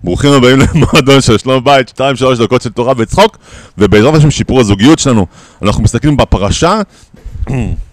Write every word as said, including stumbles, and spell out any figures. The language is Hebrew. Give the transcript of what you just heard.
ברוכים הבאים למועדון של שלום בית, שתיים שלוש דקות של תורה וצחוק, ובעזרת השם שיפור הזוגיות שלנו. אנחנו מסתכלים בפרשה